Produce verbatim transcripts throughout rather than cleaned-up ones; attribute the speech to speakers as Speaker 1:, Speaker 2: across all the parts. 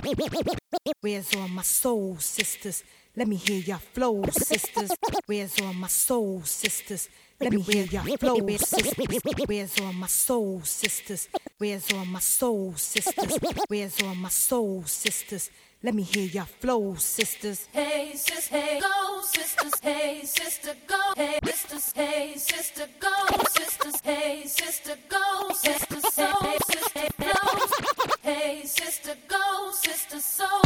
Speaker 1: Where's all my soul sisters? Let me hear your flow, sisters. Where's all my soul sisters? Let me hear your flow, sisters. Where's all my soul sisters? Where's all my soul sisters? Where's all my soul sisters? Let me hear your flow, sisters.
Speaker 2: Hey, sis, hey, go, sisters. Hey, sister, go. Hey, sisters. Hey, sister, go. Sisters. Hey, sister, go. Sisters, soul, sister, flow. Hey, sister, go. Sister, soul.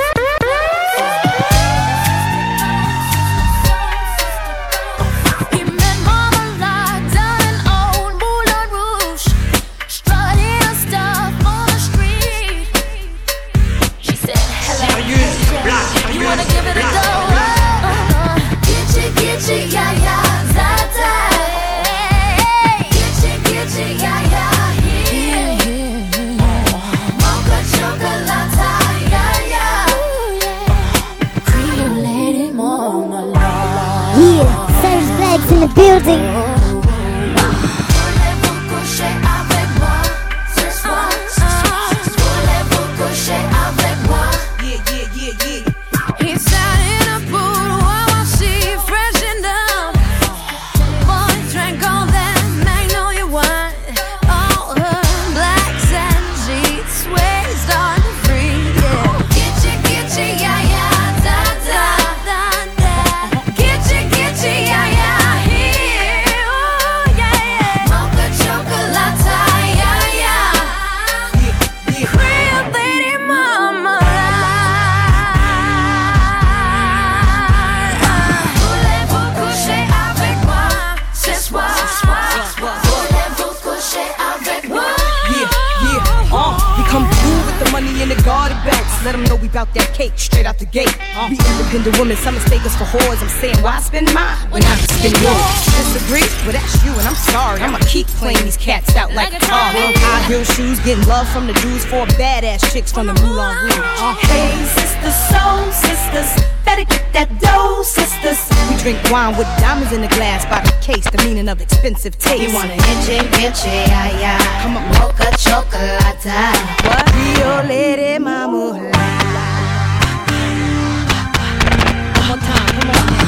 Speaker 3: In the building.
Speaker 1: Let them know we bout that cake straight out the gate. Uh, we independent women, some mistake us for whores. I'm saying, why spend mine when I can spend yours? Disagree? Well, that's you, and I'm sorry. I'ma keep playing these cats out like a car. High heel shoes, getting love from the dudes, for badass chicks from the Moulin Rouge. Uh,
Speaker 2: hey, sisters, soul sisters, better get that dough, sisters.
Speaker 1: We drink wine with diamonds in the glass by the case, the meaning of expensive taste.
Speaker 2: You want an inche, inche, ay, ay.
Speaker 1: Come on,
Speaker 2: mocha chocolate.
Speaker 1: What? Rio Lady Mama. One more time, come on now.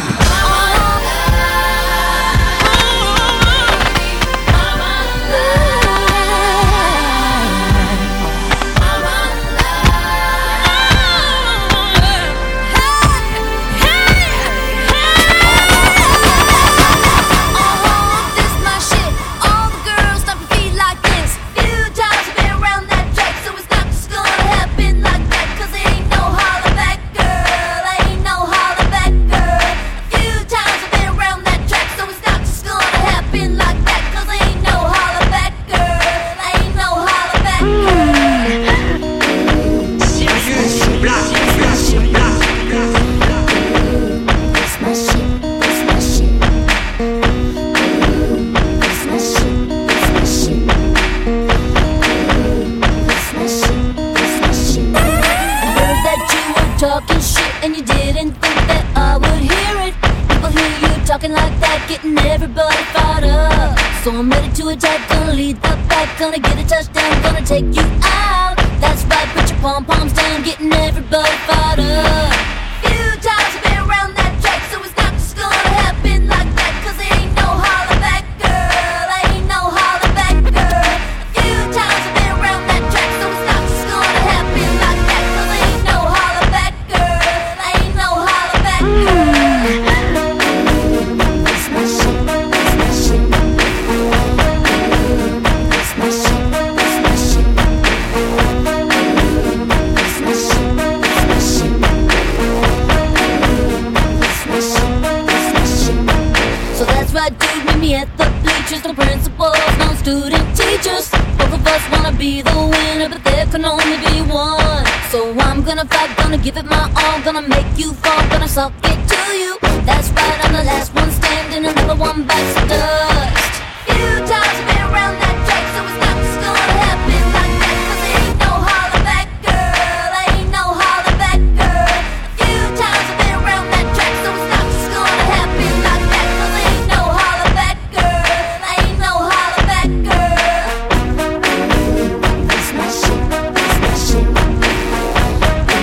Speaker 2: Talking shit and you didn't think that I would hear it. People hear you talking like that, getting everybody fired up. So I'm ready to attack, gonna lead the pack, gonna get a touchdown, gonna take you out. That's right, put your pom-poms down, getting everybody fired up. Few times I've been around that track, so it's not just gonna happen like that. Cause there ain't no holler back, girl, ain't no holler back, girl. Few times I've been around that track, so it's not just gonna happen like that. Cause there ain't no holler back, girl, ain't no holler back, girl. That's my shit, that's my shit. That's my shit, that's my shit. That's my shit, that's my shit. That's my shit, that's my shit. So that's right, dude, meet me at the bleachers. No principals, no student teachers. Both of us wanna be the winner, but there can only be one. So I'm gonna fight, gonna give it my all, gonna make you fall, gonna suck it to you. That's right, I'm the last one standing, another one bites the dust. Few times I've been around that track, so it's not just gonna happen like that. Cause there ain't no holler back, girl, ain't no holler back, girl. Few times I've been around that track, so it's not just gonna happen like that. Cause there ain't no holler back, girl, ain't no holler back, girl. That's my shit, that's my shit.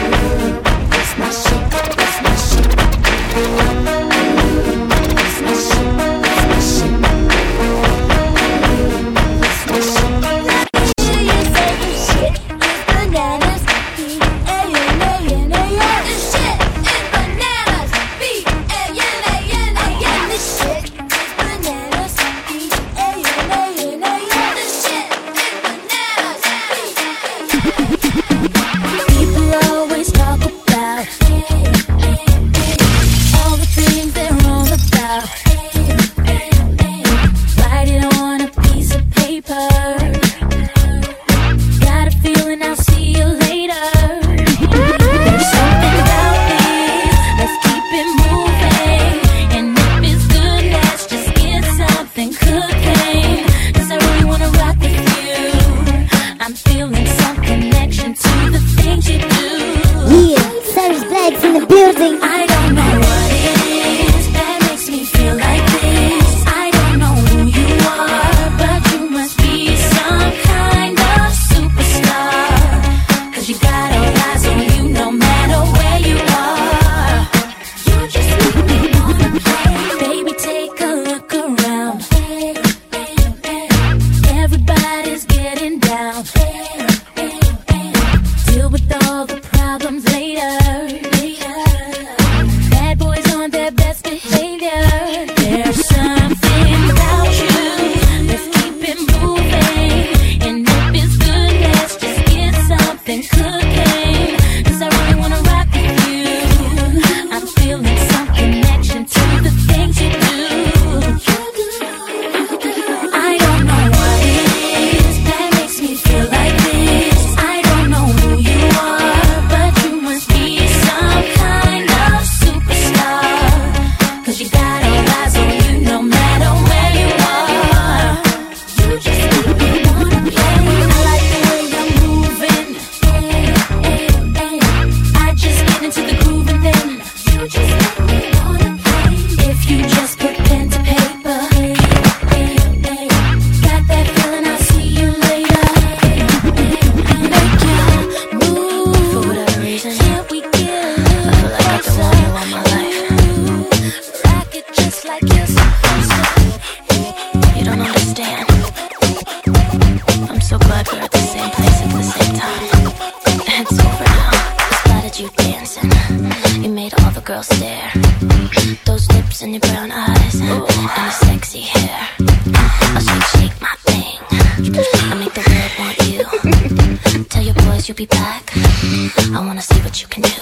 Speaker 2: solve the problems later. later. Bad boys on their best behavior. There's something about you. Let's keep it moving. And if it's good, let's just get something cooking. Cause I really wanna rock with you. I'm feeling some connection to the things you do. I don't know what it is that makes me feel like this. I don't know who you are, but you must be some kind of superstar. Cause you got all eyes on you no matter where you are. You just make me wanna play. I like the way you're moving. Hey, hey, hey. I just get into the groove and then you just make me wanna play. If you just put pen to paper, hey, hey, hey. Got that feeling, I'll see you later. Hey, hey, hey. Make you move. For whatever reason, can't we get a little
Speaker 4: I feel like I've been wanting you all my life.
Speaker 2: rock it just like you're supposed to.
Speaker 4: You don't understand. I'm so glad we're at the same place at the same time. It's over now. I spotted you dancing. You made all the girls stare. Those lips and your brown eyes and your sexy hair. I'll shake, shake my thing. I make the world want you. Tell your boys you'll be back. I wanna see what you can do.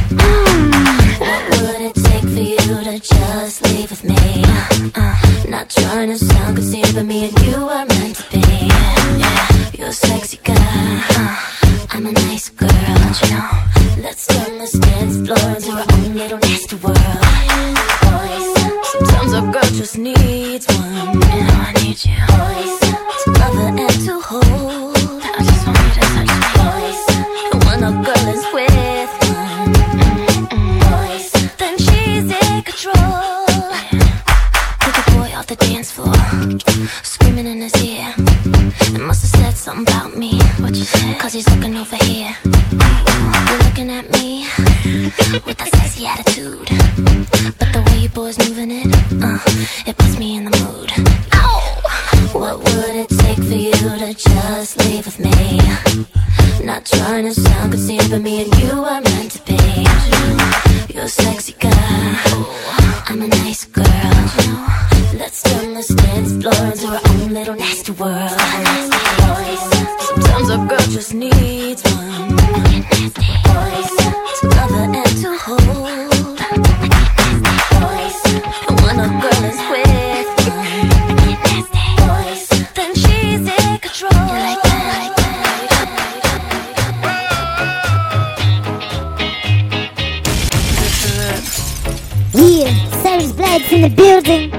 Speaker 4: What would it take for you to just leave with me? Uh, not trying to sound conceited, but me and you are meant to be. Yeah, you're a sexy girl. Uh, I'm a nice girl, don't you know? Let's turn this dance floor into our own little nasty world. Sometimes a girl just needs one. You know I need you to love her and to hold. I just want you to touch me. And when a girl is with one, then she's in control. Took a boy off the dance floor, screaming in his ear. It must have said something about me. What you said? Cause he's looking over here. You're looking at me with that sassy attitude. But the way you boys moving it, uh, it puts me in the mood. Ow! What would it take for you to just leave with me? Not trying to sound conceited, but me and you are meant to be. You're a sexy girl, I'm a nice girl. Let's turn this dance floor into our own little nasty world. Sometimes a girl just needs one to love her and to hold. And when a girl is with one, then she's in control. You like that?
Speaker 3: Yeah, Savage Blacks in the building.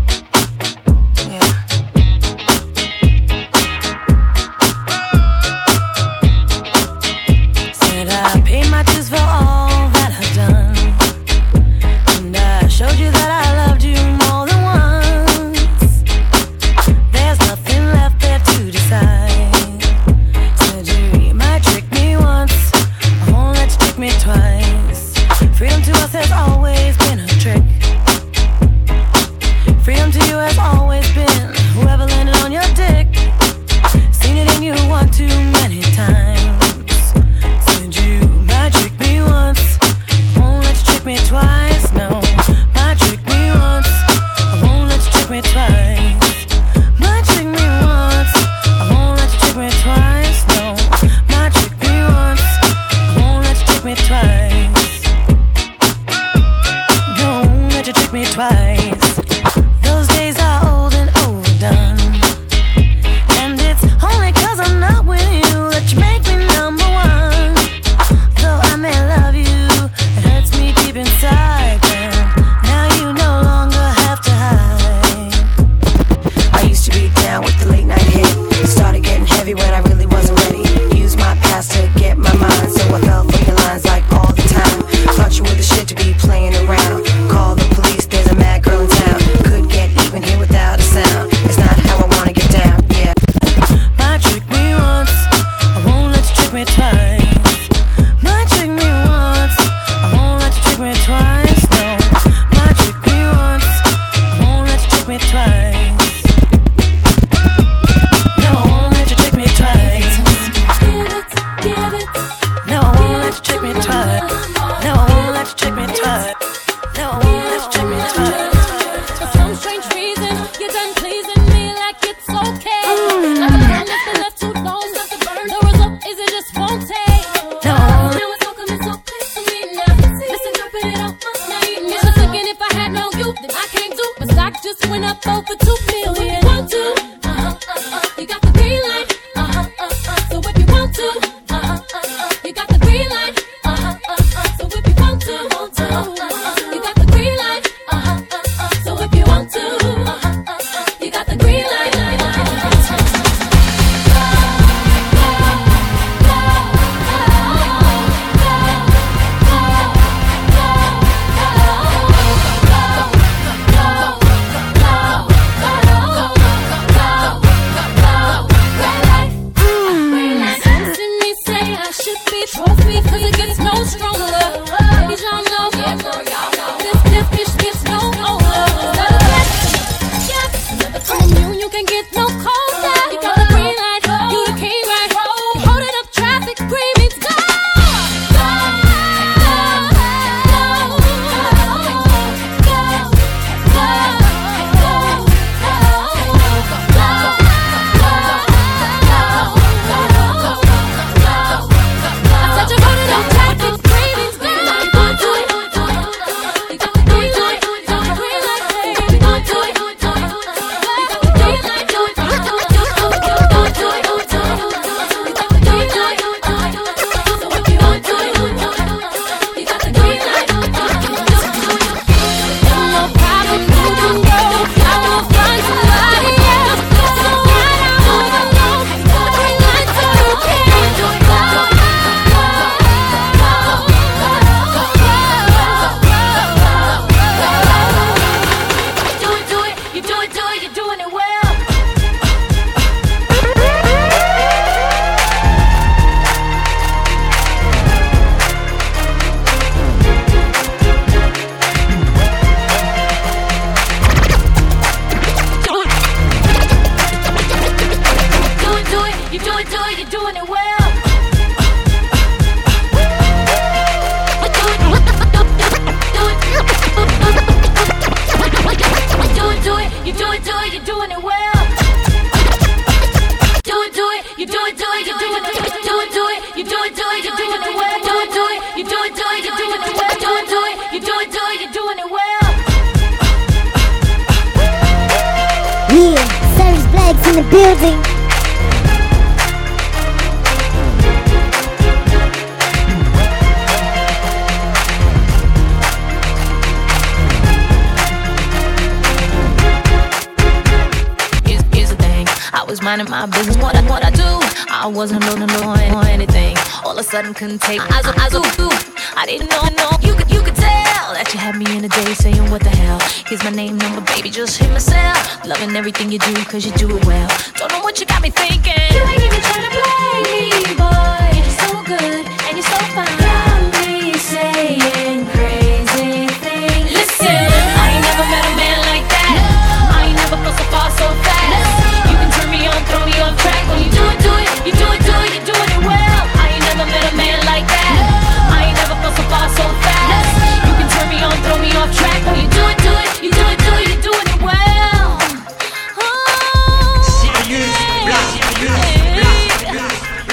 Speaker 5: Said I paid my dues for all that I've done, and I showed you that I loved you more than once. There's nothing left there to decide. Said you might trick me once, I won't let you trick me twice. Freedom to us has always been a trick. Freedom to you has always been whoever landed on your dick. Seen it in you one too many times. Said you might trick me once, won't let you trick me twice. No, might trick me once, I won't let you trick me twice. Might trick me once, I won't let you trick me twice. No, might trick me once, I won't let you trick me twice. Don't let you trick me twice. Those days are old and overdone, and it's only cause I'm not with you twice. No, I won't let you trick me twice. No, I won't let you trick me twice.
Speaker 2: For some strange reason, you're done pleasing me like it's okay. Like a gun that's been left too long, not to burn. The result is it just won't take.
Speaker 5: No, I won't.
Speaker 2: Now it's all coming so clear to me now. Listen, don't put it on my name. It's just thinking if I had no you, then I can't do. My stock just went up over two million. Want to? Uh huh, uh huh. You got the green light. Uh huh, uh huh. So if you want to, uh huh, uh huh. You got the green light. Uh huh, uh huh. So if you want to, want to, uh huh. You got the green light. Uh huh, uh huh. So if you want to, uh huh, uh huh. You got the green light. Trophy, cause it gets no stronger. Ladies, y'all know, this, this bitch gets no older. Yes, from you, you can get no colder. You got the green light, you the king, right? Holding up traffic, green means go.
Speaker 3: In the building.
Speaker 4: Here's, here's the thing, I was minding my business, what I, what I do. I wasn't loading on anything. All of a sudden couldn't take my eyes, eyes off you. I didn't know, no, you could, you could tell that you had me in a day saying what the hell. Here's my name, number, baby, just hit myself. Loving everything you do, cause you do it well. Don't know what you got me thinking.
Speaker 2: You ain't even trying to play me, boy. You're so good and you're so fine. Got me saying crazy things.
Speaker 4: Listen, I ain't never met a man like that. No. I ain't never felt so far so fast. No. You can turn me on, throw me off track. When you do it, do it, you do it, do it, you're doing it well. I ain't never met a man like that. No. I ain't never felt so far so fast. No. You can turn me on, throw me off track. When you do it, do it, you do it, do it, you're doing it well. Oh,
Speaker 6: Sirius Black, Sirius Black.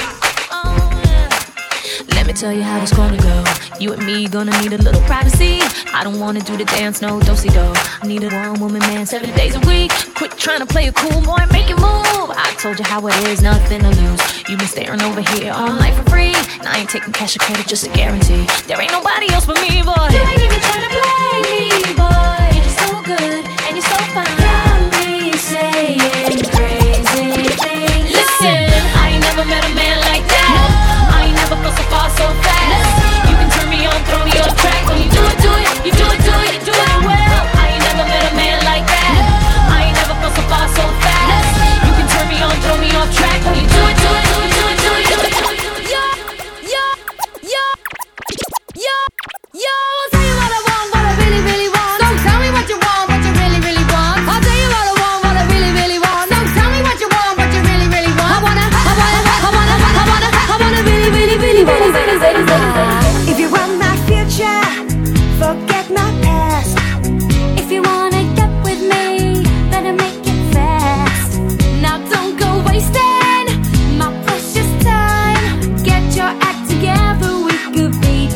Speaker 4: Let me tell you how it's gonna go. You and me gonna need a little privacy. I don't wanna do the dance, no do-si-do. I need a one-woman man seven days a week. Quit trying to play a cool boy and make it move. I told you how it is, nothing to lose. You been staring over here all night for free. And I ain't taking cash or credit, just a guarantee. There ain't nobody else but me, boy.
Speaker 2: You ain't even trying to play me, boy. You're so good and you're so fine. Got me saying crazy things.
Speaker 4: Listen, I ain't never met a man like that. No. I ain't never felt so far so fast. No. You can turn me on, throw me off track. When you do it, do it, you do it, do it, you do it well. I ain't never met a man like that. No. I ain't never felt so far so fast. No. You can turn me on, throw me off track. When you do it, do it, do it, do it, do it, do it, do it.
Speaker 2: Yo, yo, yo, yo, yo, I'll tell you what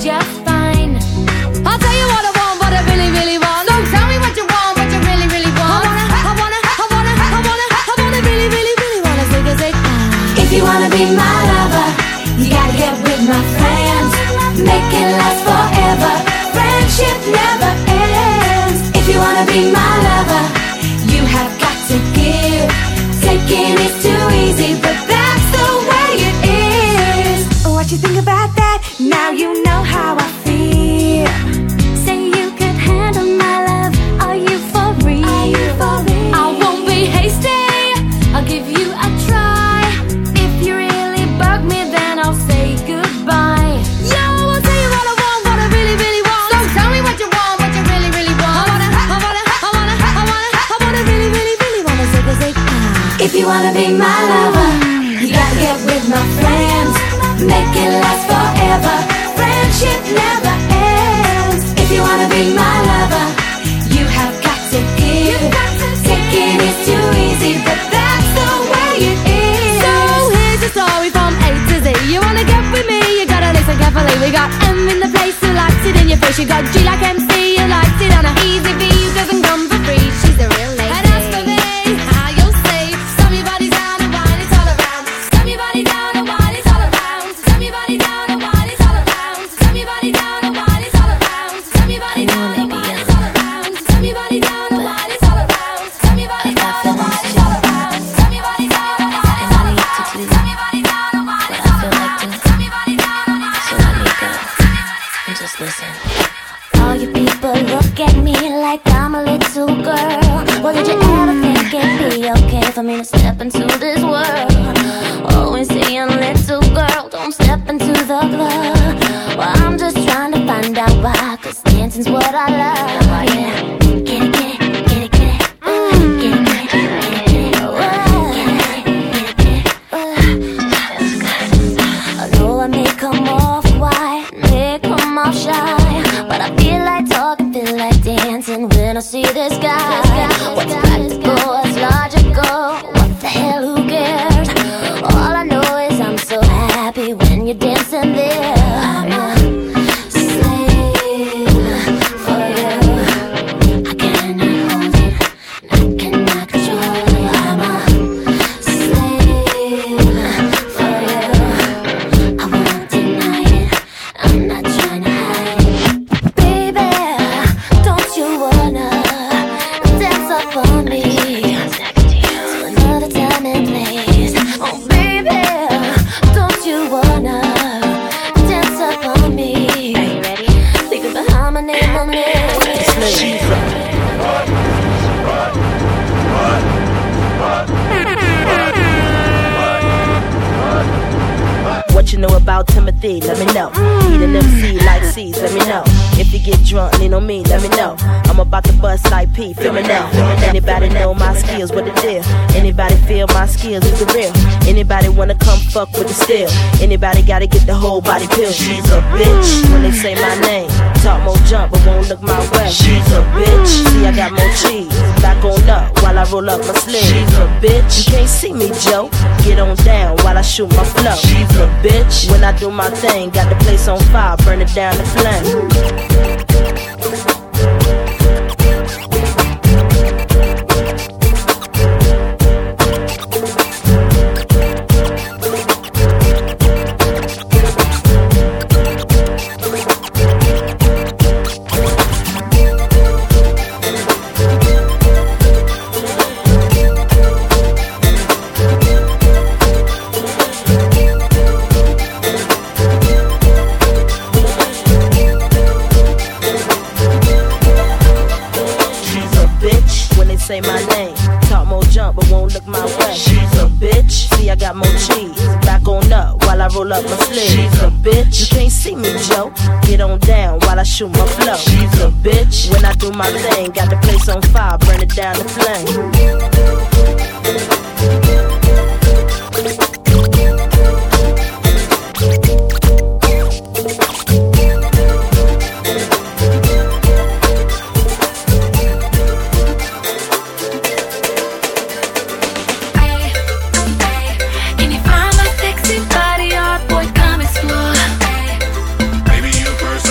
Speaker 2: just fine. I'll tell you what I want, what I really, really want. So tell me what you want, what you really, really want. I wanna, I wanna, I wanna, I wanna, I wanna really, really, really wanna zig a zig. If you wanna be my lover, you gotta get with my friends. Make it last forever. Friendship never ends. If you wanna be my lover, you have got to give. Taking is too easy, but that's the way it is. What you think about that? Now you know how I feel.
Speaker 4: Say you could handle my love. Are you for real?
Speaker 2: Are you for real? I won't be hasty. I'll give you a try. If you really bug me, then I'll say goodbye. Yo, I'll tell you what I want, what I really, really want. So tell me what you want, what you really, really want. I wanna, I wanna, I wanna, I wanna, I wanna really, really, really wanna zig a zig. If you wanna be my lover, you gotta get with my friends. Make it last forever. Friendship never ends. If you wanna be my lover, you have got to give. Taking is too easy, but that's the way it is. So here's the story from A to Z. You wanna get with me, you gotta listen carefully. We got M in the place who likes it in your face. You got G like M C, who likes it on a easy V, who doesn't come for free. She's a real lady. And as for me, how you'll see, slam your body down and whine it's all around. Slam your body down and whine it's all around. Slam your body down and whine it's all around. Slam your body down and whine it's all around. Slam your body down and whine it's all around. Slam your body down and whine it's all around. Slam your body down and whine it's all around. Slam your body down and whine it's all around. Slam your body down and whine it's all around. Slam your body down and whine it's all around.
Speaker 4: And just listen. All you people look at me like I'm a little girl. Well, did you ever think it'd be okay for me to step into this world? Always saying, little girl, don't step into the club. Well, I'm just trying to find out why, cause dancing's what I love. Yeah. Get it, get it, get it, get it. Mm. Get it, get it, get it, get it. Oh, get it, get it, get it. I know I may come off quiet, may come off shy, but I feel like talking, feel like dancing when I see this guy. What's practical, what's logical, what the hell, who cares? All I know is I'm so happy when you're dancing there. I'm a slave for you. I cannot hold it, I cannot control it. I'm a slave for you. I won't deny it, I'm not trying to hide it. Baby, don't you wanna dance up on me to another time and place? Oh baby, don't you wanna dance up on me? Are you ready? Think about how my name on it.
Speaker 7: What you know about Timothy, let me know. Eat an M C like C's, let me know. If you get drunk, lean on me, let me know. I'm about to bust like P, feel me now. Anybody know my skills, what the deal? Anybody feel my skills is the real? Anybody wanna come fuck with the steel? Anybody gotta get the whole body pill? She's a bitch when they say my name. Talk more jump, but won't look my way. She's a bitch, see I got more cheese. Back on up while I roll up my sleeve. She's a bitch, you can't see me, Joe. Get on down while I shoot my flow. She's a bitch, when I do my thing, got the place on fire, burn it down to flame. Say my name, talk more jump, but won't look my way. She's a bitch, see I got more cheese. Back on up while I roll up my sleeves. She's a bitch, you can't see me, Joe. Get on down while I shoot my flow. She's a bitch, when I do my thing, got the place on fire, burn it down to flame.
Speaker 8: Baby, you first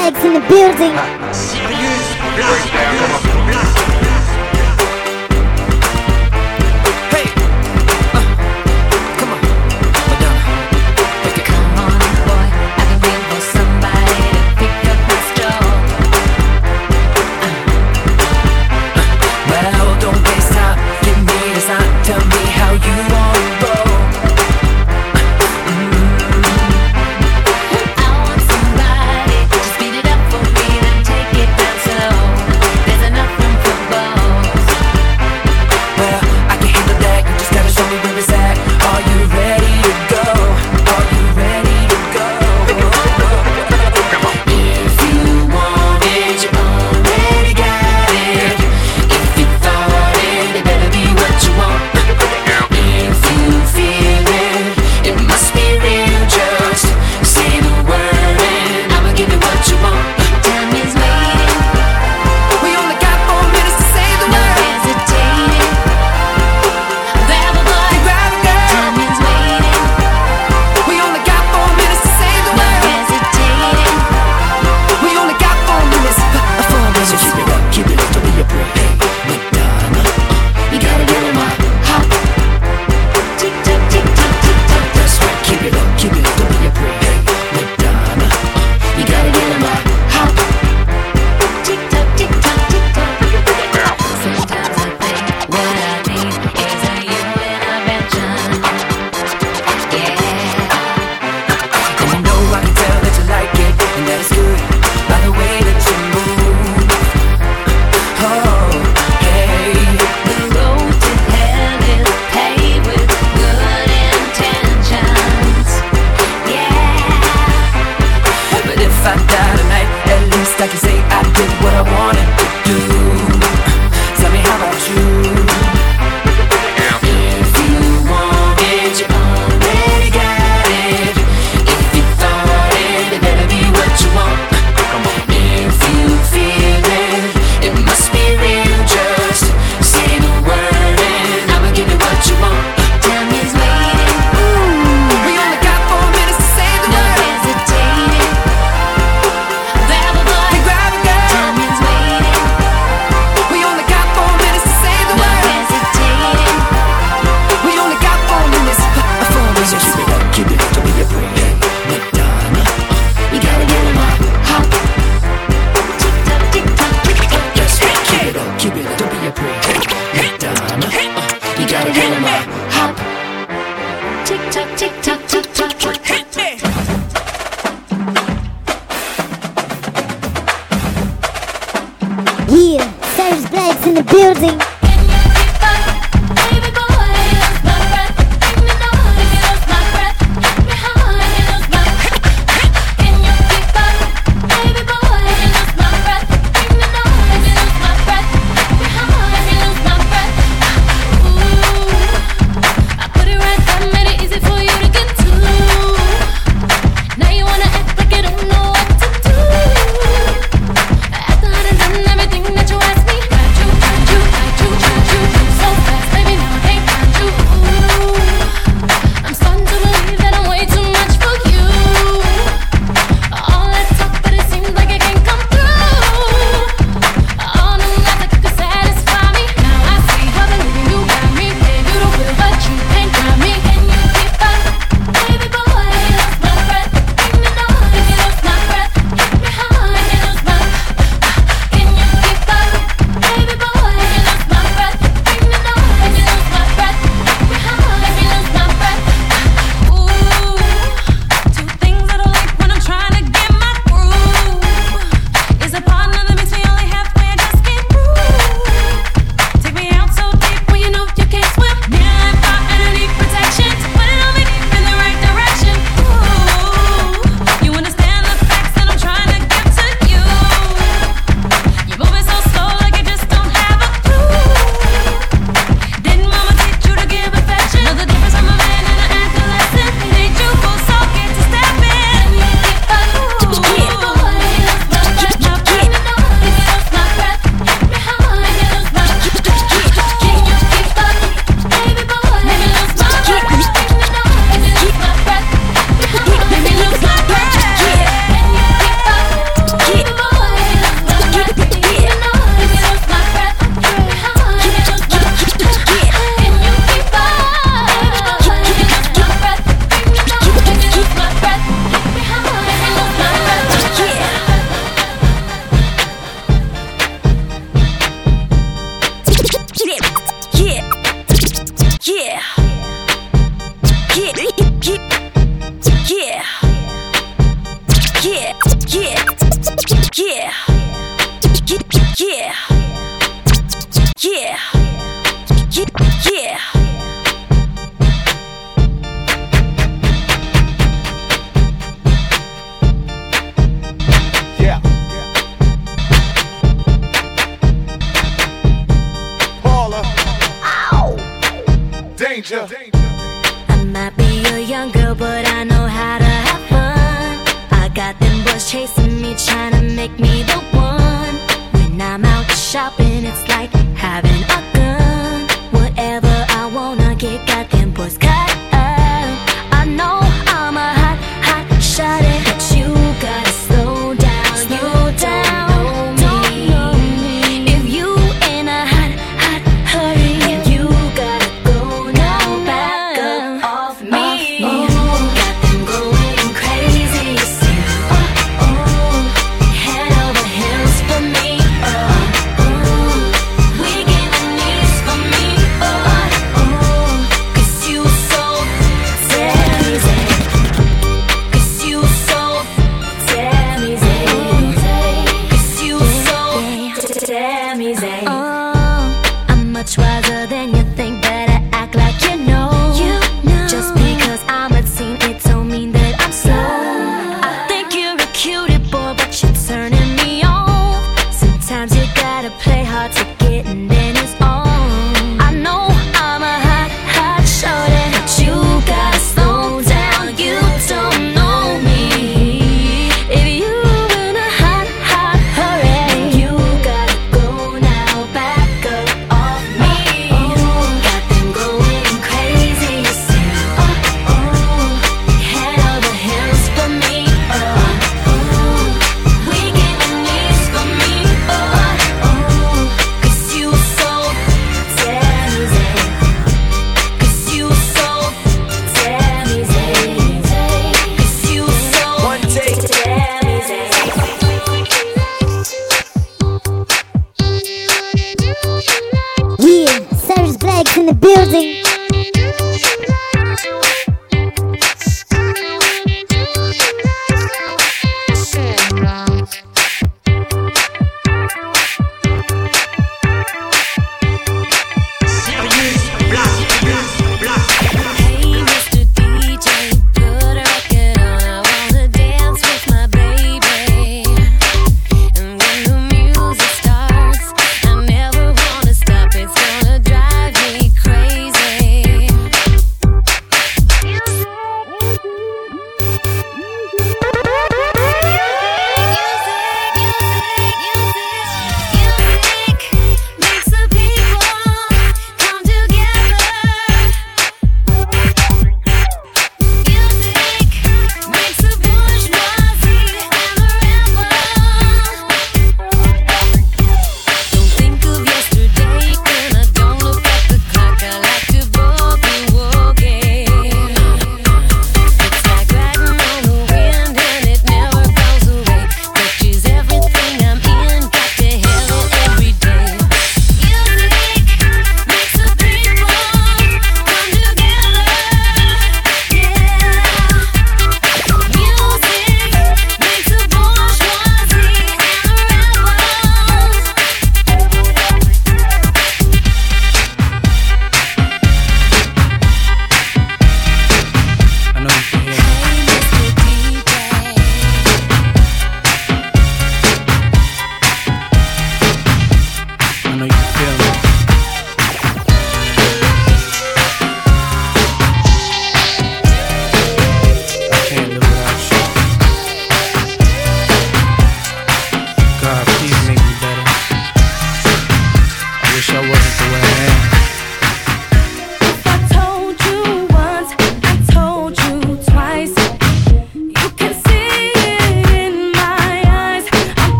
Speaker 3: Blags in the building.
Speaker 6: Sirius Black. Black.
Speaker 8: Hey, uh, come on, Madonna, make it come on, boy. I've been waiting for somebody to pick up my stone. Uh, uh, well, don't waste time. Give me the sign. Tell me how you want to roll.
Speaker 9: Everything that you ask me, got you, got you, got you.
Speaker 5: Yeah. Yeah. Yeah. Yeah.
Speaker 9: Yeah. Paula. Ow. Danger.
Speaker 5: I might be a young girl, but I know how to have fun. I got them boys chasing me, trying to make me the one. When I'm out shopping, it's like having a gun. Whatever I wanna get, got them boys cut up. I know I'm a hot, hot shawty, but you gotta slow down, slow down. Don't know me. If you in a hot, hot hurry, you gotta go now, back.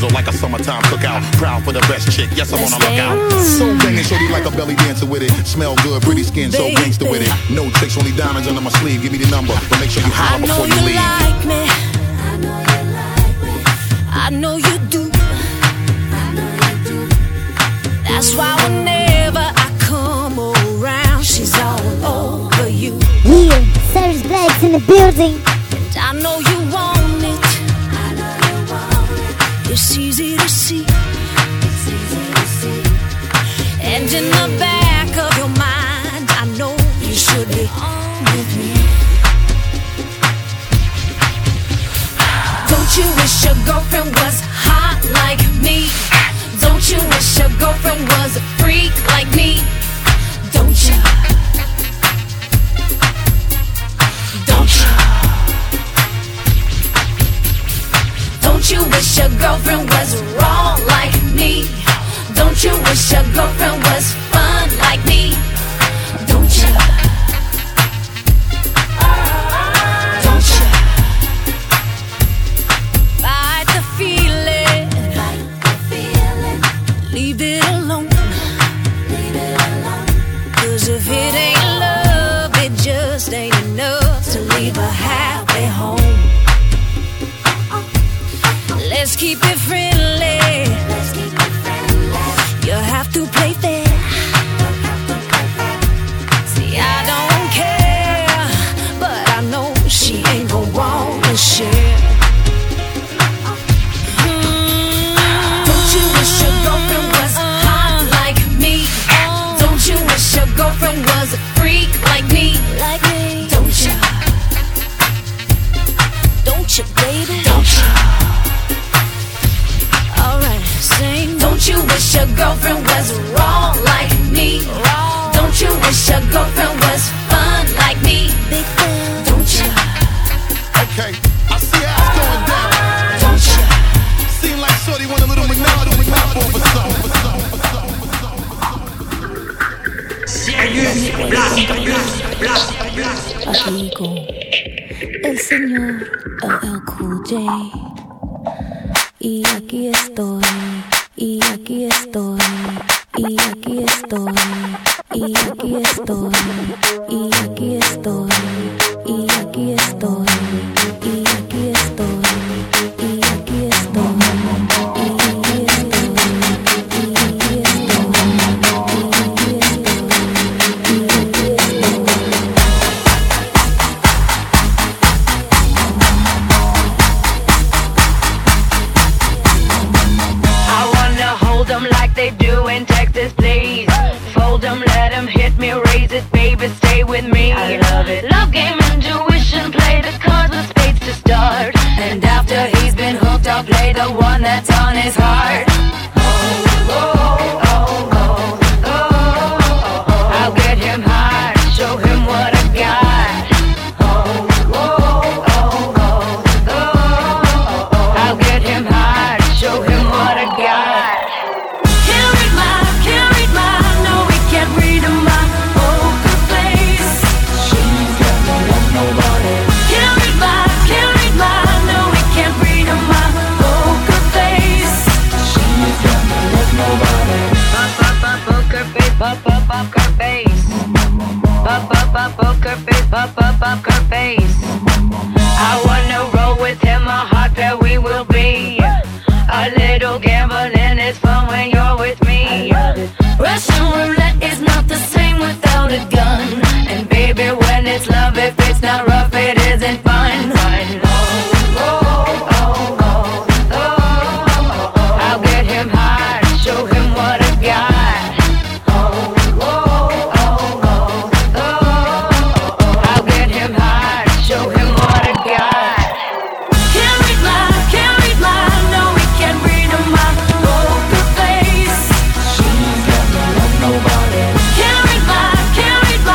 Speaker 10: sizzle like a summertime cookout. Proud for the best chick, yes, I'm on a lookout. So banging, shorty like a belly dancer with it. Smell good, pretty skin, so gangster with it. No tricks, only diamonds under my sleeve. Give me the number, but make sure you holler before you leave.
Speaker 5: I know you like me. I know you do. That's why whenever I come around, she's all over you.
Speaker 3: Yeah, Service Blades in the building.
Speaker 5: And I know you want it. It's easy to see. And in the back of your mind, I know you should be on with me. Don't you wish your girlfriend was hot like me? Don't you wish your girlfriend was a freak like me? Don't you? Don't you? Don't you wish your girlfriend was wrong like me? Don't you wish your girlfriend was fun like me? Don't you? Don't you? Fight the feeling. Fight the feeling. Leave it alone. Leave it alone. 'Cause if it ain't love, it just ain't enough to leave a happy home. Let's keep it friendly. Let's keep it friendly. You have to play fair. See, I don't care, but I know she ain't gon' wanna share. Don't you wish your girlfriend was hot like me? Don't you wish your girlfriend was a freak like me? Like me? Don't you? Don't you, baby? Don't you? Alright, sing. Don't you wish your girlfriend was wrong like me? Wrong. Don't you wish your girlfriend was fun like me? Big fan. Don't you?
Speaker 10: Okay, I see how it's going down.
Speaker 5: Don't you?
Speaker 10: Seem like shorty want a little McNaughton to pop off or something.
Speaker 6: Serious Blast, Blast, Blast, Blast.
Speaker 4: Aquí llegó el señor L L Cool J. Y aquí estoy, y aquí estoy, y aquí estoy, y aquí estoy, y aquí estoy, y aquí estoy, y aquí estoy, y aquí estoy,
Speaker 11: they do in Texas, please. Fold them, let them hit me, raise it, baby, stay with me. I love it. Love game, intuition, play the cards with spades to start. And after he's been hooked, I'll play the one that's on his heart. Oh, oh, oh, oh, oh, oh, oh. I'll get him high, show him what I got. Oh, oh, oh, oh, oh, oh. I'll get him high, show him what I got. Pop up up her face. Pop up up up her face. Pop up up her face. I wanna roll with him, a hot pair we will be. A little gambling is fun when you're with me. Russian roulette is not the same without a gun. And baby, when it's love, if it's not rough, it isn't fun. Fun. Oh, oh, oh, oh, oh, oh. I'll get him high, show him what I got.
Speaker 5: Can't read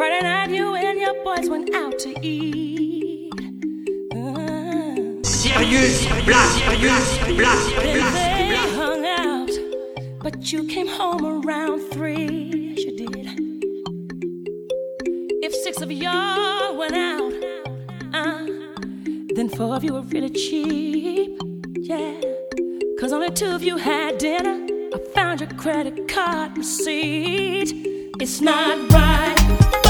Speaker 5: Friday night you and your boys went out to eat.
Speaker 6: Serious, black, serious, black,
Speaker 5: Then they hung out, but you came home around three. Yes, you did. If six of y'all went out, uh, then four of you were really cheap. Yeah, cause only two of you had dinner. I found your credit card receipt. It's not right.